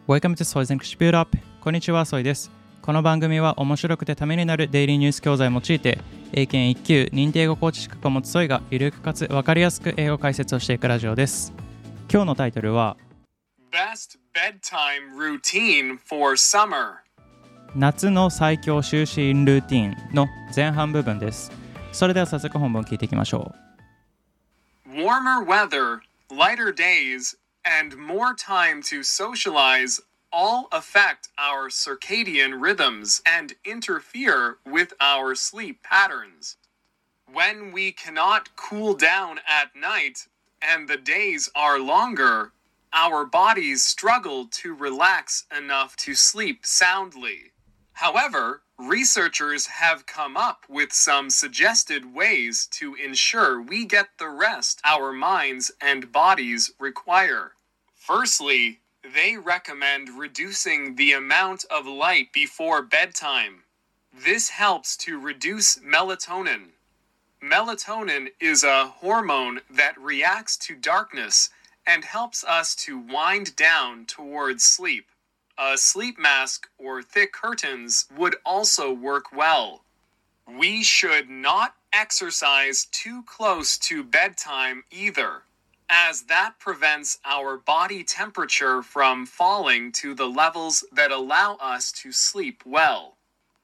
Welcome to Soy's English Build Up。こんにちは、ソイです。この番組は面白くてためになるデイリーニュース教材を用いて、英検1級認定英語コーチ資格を持つソイがゆるくかつ分かりやすく英語解説をしていくラジオです。今日のタイトルは Best Bedtime Routine for Summer 夏の最強就寝ルーティンの前半部分です。それでは早速本文を聞いていきましょう。Warmer weather, lighter days, and more time to socialize all affect our circadian rhythms and interfere with our sleep patterns. When we cannot cool down at night and the days are longer, our bodies struggle to relax enough to sleep soundly. However, researchers have come up with some suggested ways to ensure we get the rest our minds and bodies require. Firstly, they recommend reducing the amount of light before bedtime. This helps to reduce melatonin. Melatonin is a hormone that reacts to darkness and helps us to wind down towards sleep. A sleep mask or thick curtains would also work well. We should not exercise too close to bedtime either, as that prevents our body temperature from falling to the levels that allow us to sleep well.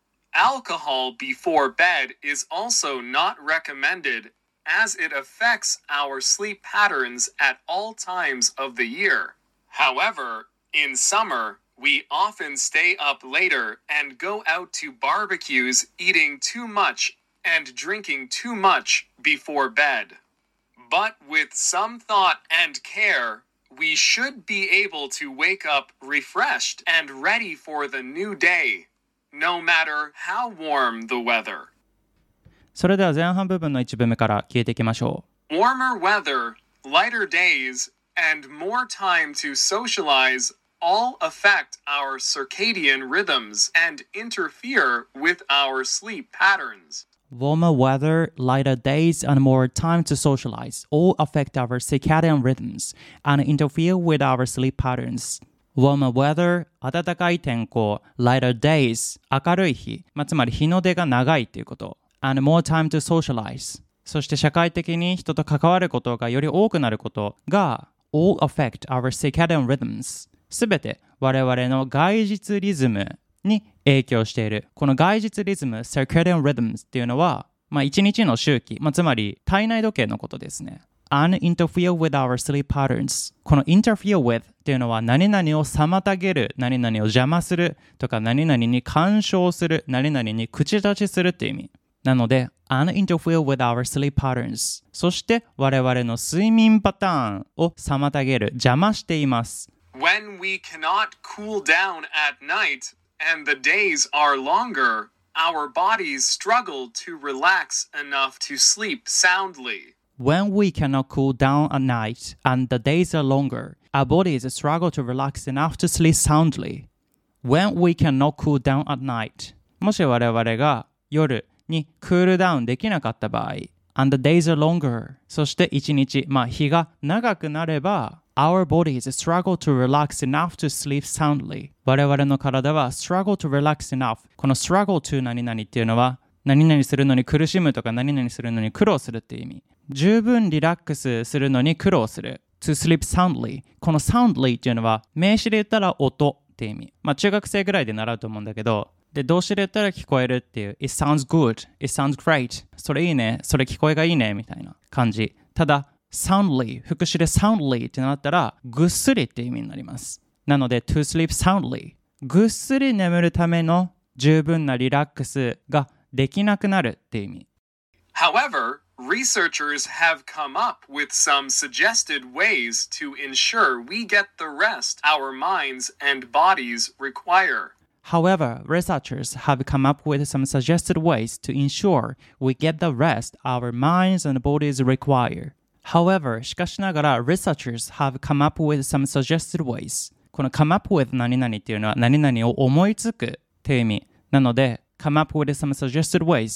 Alcohol before bed is also not recommended, as it affects our sleep patterns at all times of the year. However, in summer, we often stay up later and go out to barbecues, eating too much and drinking too much before bed. But with some thought and care, we should be able to wake up refreshed and ready for the new day, no matter how warm the weather. それでは前半部分の一部目から聞いていきましょう。Warmer weather, lighter days, and more time to socialize all affect our circadian rhythms and interfere with our sleep patterns. Warmer weather, lighter days, and more time to socialize all affect our circadian rhythms and interfere with our sleep patterns. Warmer weather, 暖かい天候、lighter days、明るい日、つまり日の出が長いということ。and more time to socialize。そして社会的に人と関わることがより多くなることが all affect our circadian rhythms。すべて我々の外日リズムに影響している。この外日リズム circadian rhythms っていうのは、一日の周期、つまり体内時計のことですね。and interfere with our sleep patterns。この interfere with っていうのは何々を妨げる、何々を邪魔するとか何々に干渉する、何々に口出しするっていう意味。なので and interfere with our sleep patterns。そして我々の睡眠パターンを妨げる、邪魔しています。 When we cannot cool down at night and the days are longer, our bodies struggle to relax enough to sleep soundly. When we cannot cool down at night and the days are longer, our bodies struggle to relax enough to sleep soundly. When we cannot cool down at night. もし我々が夜にクールダウンできなかった場合、and the days are longer. そして一日、日が長くなれば、Our bodies struggle to relax enough to sleep soundly. 我々の体は struggle to relax enough. この struggle to 何々っていうのは何々するのに苦しむとか何々するのに苦労するっていう意味。十分リラックスするのに苦労する。to sleep soundly. この soundly っていうのは名詞で言ったら音っていう意味。中学生ぐらいで習うと思うんだけど、で動詞で言ったら聞こえるっていう It sounds good. It sounds great. それいいね。それ聞こえがいいねみたいな感じ。ただsoundly、副詞で soundly ってなったらぐっすりって意味になります。なので to sleep soundly、ぐっすり眠るための十分なリラックスができなくなるって意味。 However, researchers have come up with some suggested ways to ensure we get the rest our minds and bodies require. However, researchers have come up with some suggested ways to ensure we get the rest our minds and bodies require.However, しかしながら researchers have come up with some suggested ways. この come up with 何々っていうのは何々を思いつくっていう意味。なので come up with some suggested ways.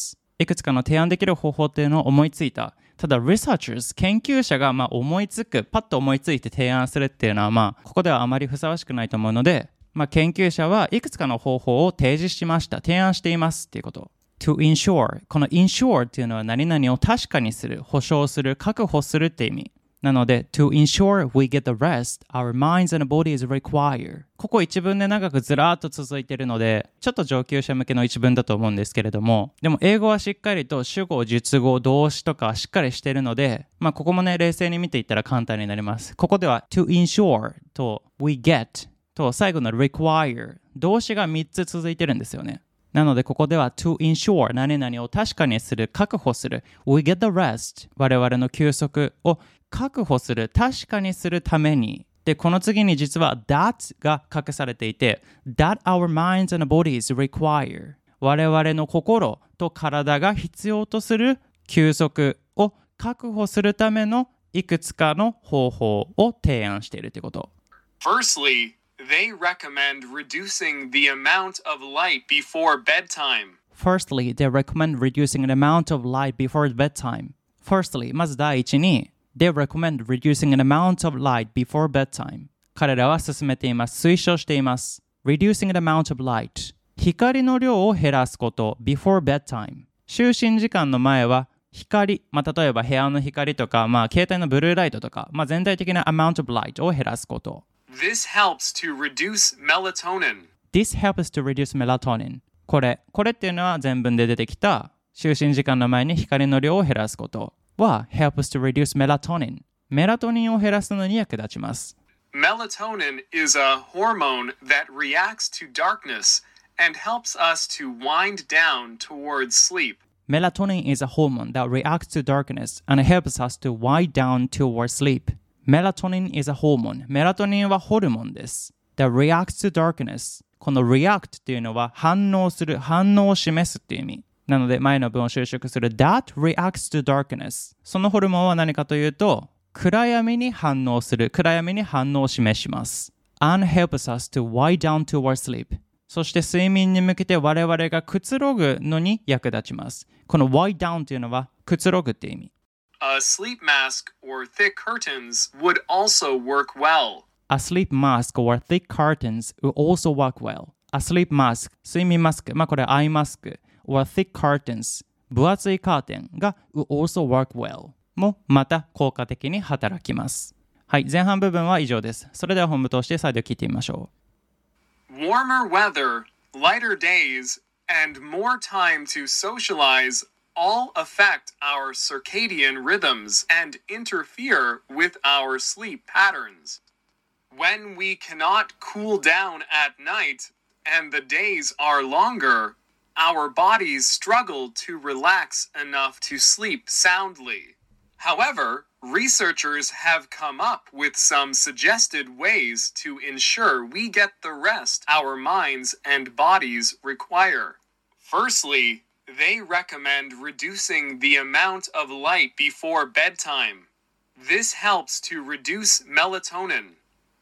いくつかの提案できる方法っていうのを思いついた。ただ researchers 研究者が思いつく、パッと思いついて提案するっていうのはここではあまりふさわしくないと思うので、研究者はいくつかの方法を提示しました。提案していますっていうこと。to ensure この ensure っていうのは何々を確かにする、保証する、確保するって意味。なので to ensure we get the rest our minds and bodies require ここ一文で長くずらーっと続いているのでちょっと上級者向けの一文だと思うんですけれども、でも英語はしっかりと主語、述語、動詞とかしっかりしているので、ここもね冷静に見ていったら簡単になります。ここでは to ensure と we get と最後の require 動詞が3つ続いてるんですよね。なのでここでは to ensure 何々を確かにする、確保する we get the rest 我々の休息を確保する、確かにするために。で、この次に実は that が隠されていて that our minds and bodies require 我々の心と体が必要とする休息を確保するためのいくつかの方法を提案しているということ。 Firstly, they recommend reducing the amount of light before bedtime. Firstly, they recommend reducing the amount of light before bedtime. Firstly, まず第一にThey recommend reducing an amount of light before bedtime. 彼らは勧めています。推奨しています。Reducing an amount of light. 光の量を減らすこと。Before bedtime. 就寝時間の前は光、例えば部屋の光とか、携帯のブルーライトとか、全体的な amount of light を減らすこと。 This helps to reduce melatonin. This helps to reduce melatonin. これっていうのは前文で出てきた就寝時間の前に光の量を減らすこと。は helps to reduce melatonin メラトニンを減らすのに役立ちます。 Melatonin is a hormone that reacts to darkness and helps us to wind down towards sleep. Melatonin is a hormone that reacts to darkness and helps us to wind down towards sleep. Melatonin is a hormone メラトニンはホルモンです。 that reacts to darkness この react っていうのは反応する、反応を示すっていう意味なので前の文を修飾する That reacts to darkness そのホルモンは何かというと暗闇に反応する、暗闇に反応を示します。 And helps us to wind down towards sleep そして睡眠に向けて我々がくつろぐのに役立ちます。この wind down というのはくつろぐって意味。 A sleep mask or thick curtains would also work well. A sleep mask or thick curtains would also work well. A sleep mask 睡眠マスク、これアイマスクor thick curtains 分厚いカーテンが will also work well もまた効果的に働きます。はい、前半部分は以上です。それでは本部通して再度聞いてみましょう。Warmer weather, lighter days, and more time to socialize all affect our circadian rhythms and interfere with our sleep patterns. When we cannot cool down at night and the days are longer, our bodies struggle to relax enough to sleep soundly. However, researchers have come up with some suggested ways to ensure we get the rest our minds and bodies require. Firstly, they recommend reducing the amount of light before bedtime. This helps to reduce melatonin.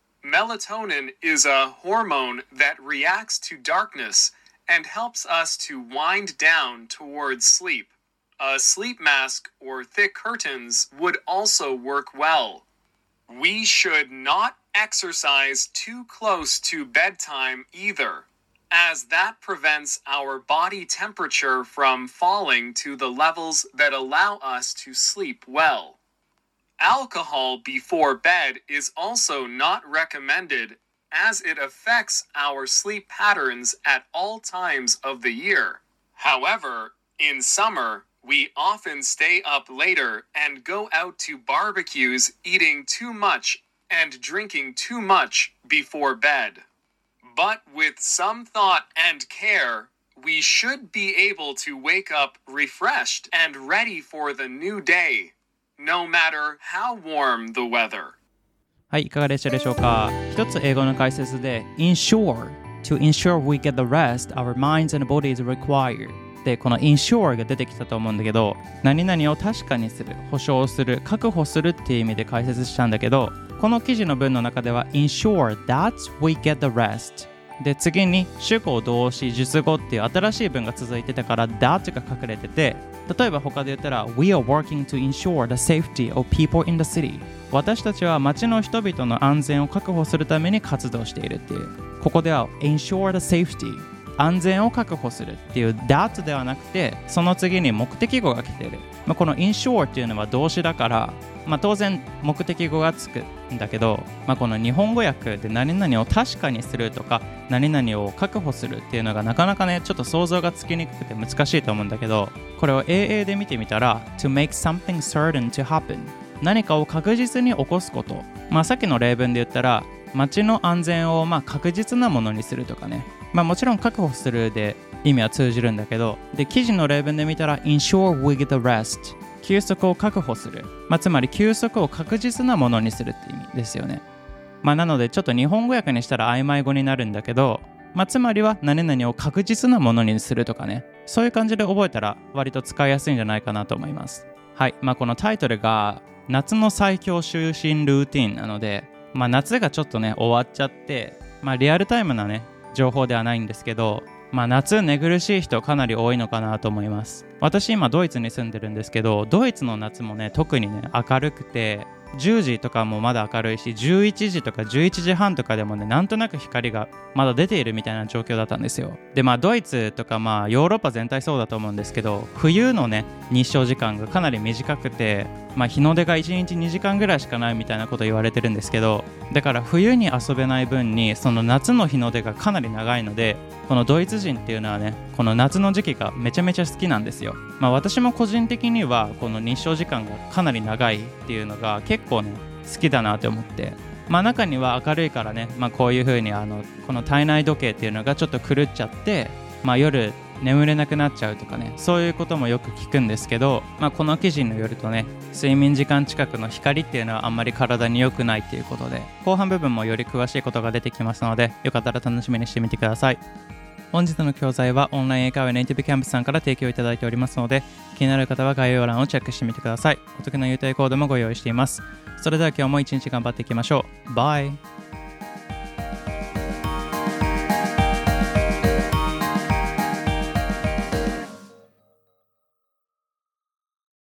Melatonin is a hormone that reacts to darkness.and helps us to wind down towards sleep. A sleep mask or thick curtains would also work well. We should not exercise too close to bedtime either, as that prevents our body temperature from falling to the levels that allow us to sleep well. Alcohol before bed is also not recommended,as it affects our sleep patterns at all times of the year. However, in summer, we often stay up later and go out to barbecues eating too much and drinking too much before bed. But with some thought and care, we should be able to wake up refreshed and ready for the new day, no matter how warm the weather. はい、いかがでしたでしょうか。一つ英語の解説で ensure to ensure we get the rest our minds and bodies require でこの ensure が出てきたと思うんだけど何々を確かにする、保証する、確保するっていう意味で解説したんだけどこの記事の文の中では ensure that we get the rest で次に主語、動詞、述語っていう新しい文が続いてたから that が隠れてて例えば他で言ったら We are working to ensure the safety of people in the city 私たちは街の人々の安全を確保するために活動しているっていう。ここでは ensure the safety 安全を確保するっていう that ではなくて、その次に目的語が来ている。この ensure っていうのは動詞だから、当然目的語がつくんだけど、この日本語訳で何々を確かにするとか何々を確保するっていうのがなかなかねちょっと想像がつきにくくて難しいと思うんだけど、これを AA で見てみたら to make something certain to happen 何かを確実に起こすこと。さっきの例文で言ったら街の安全を確実なものにするとかね、もちろん確保するで意味は通じるんだけど、で記事の例文で見たら ensure we get the rest 休息を確保する、つまり休息を確実なものにするって意味ですよね。なのでちょっと日本語訳にしたら曖昧語になるんだけど、つまりは何々を確実なものにするとかね、そういう感じで覚えたら割と使いやすいんじゃないかなと思います。はい、このタイトルが夏の最強就寝ルーティンなので、夏がちょっとね終わっちゃって、リアルタイムなね情報ではないんですけど、夏寝苦しい人かなり多いのかなと思います。私今ドイツに住んでるんですけど、ドイツの夏もね特にね明るくて10時とかもまだ明るいし、11時とか11時半とかでもねなんとなく光がまだ出ているみたいな状況だったんですよ。でドイツとかヨーロッパ全体そうだと思うんですけど、冬のね日照時間がかなり短くて、日の出が1日2時間ぐらいしかないみたいなこと言われてるんですけど、だから冬に遊べない分にその夏の日の出がかなり長いので、このドイツ人っていうのはねこの夏の時期がめちゃめちゃ好きなんですよ。私も個人的にはこの日照時間がかなり長いっていうのが結構ね好きだなって思って、中には明るいからね、こういう風にこの体内時計っていうのがちょっと狂っちゃって、夜眠れなくなっちゃうとかね、そういうこともよく聞くんですけど、この記事によるとね睡眠時間近くの光っていうのはあんまり体に良くないっていうことで、後半部分もより詳しいことが出てきますので、よかったら楽しみにしてみてください。本日の教材はオンライン英会話ネイティブキャンプさんから提供いただいておりますので、気になる方は概要欄をチェックしてみてください。お得な優待コードもご用意しています。それでは今日も一日頑張っていきましょう。バイ。